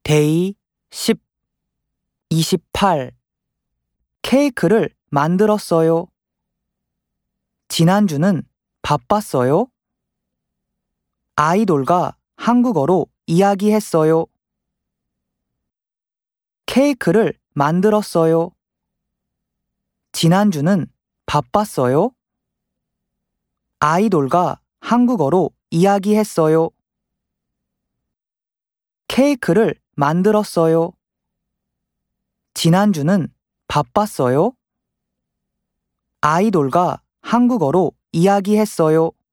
데이 10, 28 케이크를 만들었어요. 지난주는 바빴어요. 아이돌과 한국어로 이야기했어요. 케이크를 만들었어요. 지난주는 바빴어요. 아이돌과 한국어로 이야기했어요. 케이크를 만들었어요. 지난주는 바빴어요. 아이돌과 한국어로 이야기했어요.